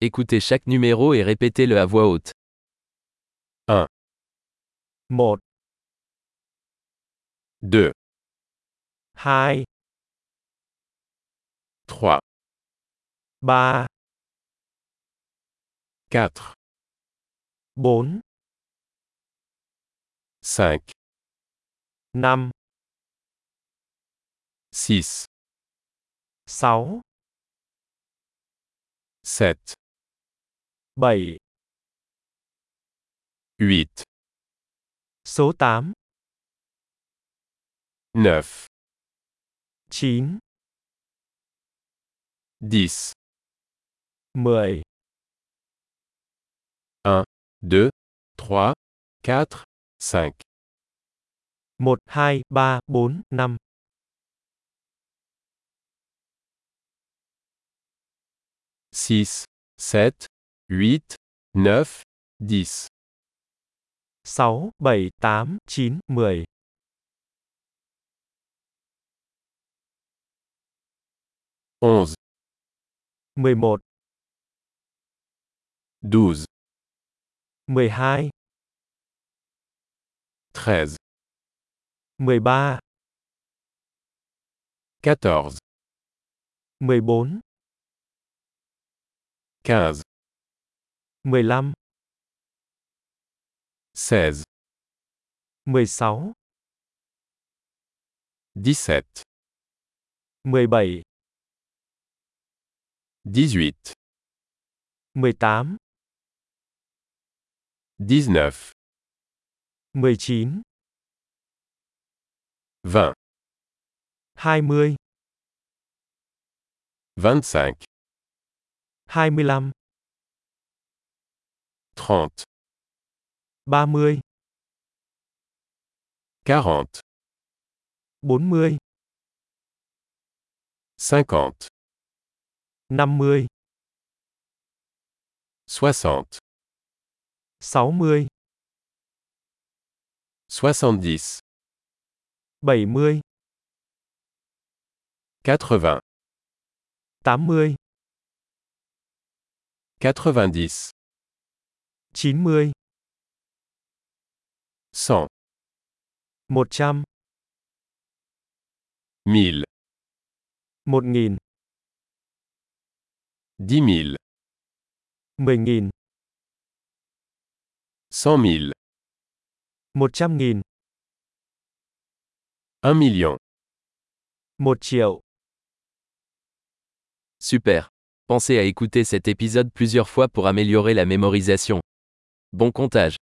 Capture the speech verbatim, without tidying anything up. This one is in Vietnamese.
Écoutez chaque numéro et répétez-le à voix haute. một, deux, hai, trois, ba, quatre, bốn, cinq, năm, six, sáu, sept, bảy, huit, số tám, neuf, chín, dix, mười, un, deux, trois, quatre, cinq, một, hai, ba, bốn, năm, six, sept, huit, neuf, dix, sáu, bảy, tám, chín, mười, onze, mười một, douze, mười hai, treize, mười ba, quatorze, mười bốn, quinze, mười lăm, seize, mười sáu, dix-sept, mười bảy, dix-huit, mười tám, dix-neuf, mười chín, vingt, hai mươi, vingt-cinq, hai mươi lăm, trente, ba mươi, quarante, bốn mươi, cinquante, năm mươi, soixante, sáu mươi, soixante-dix, bảy mươi, quatre-vingts, tám mươi, quatre-vingt-dix, chín mươi, cent, một trăm, mille, một nghìn, dix mille, mười nghìn, cent mille, một trăm nghìn, un million. một triệu. Super. Pensez à écouter cet épisode plusieurs fois pour améliorer la mémorisation. Bon comptage.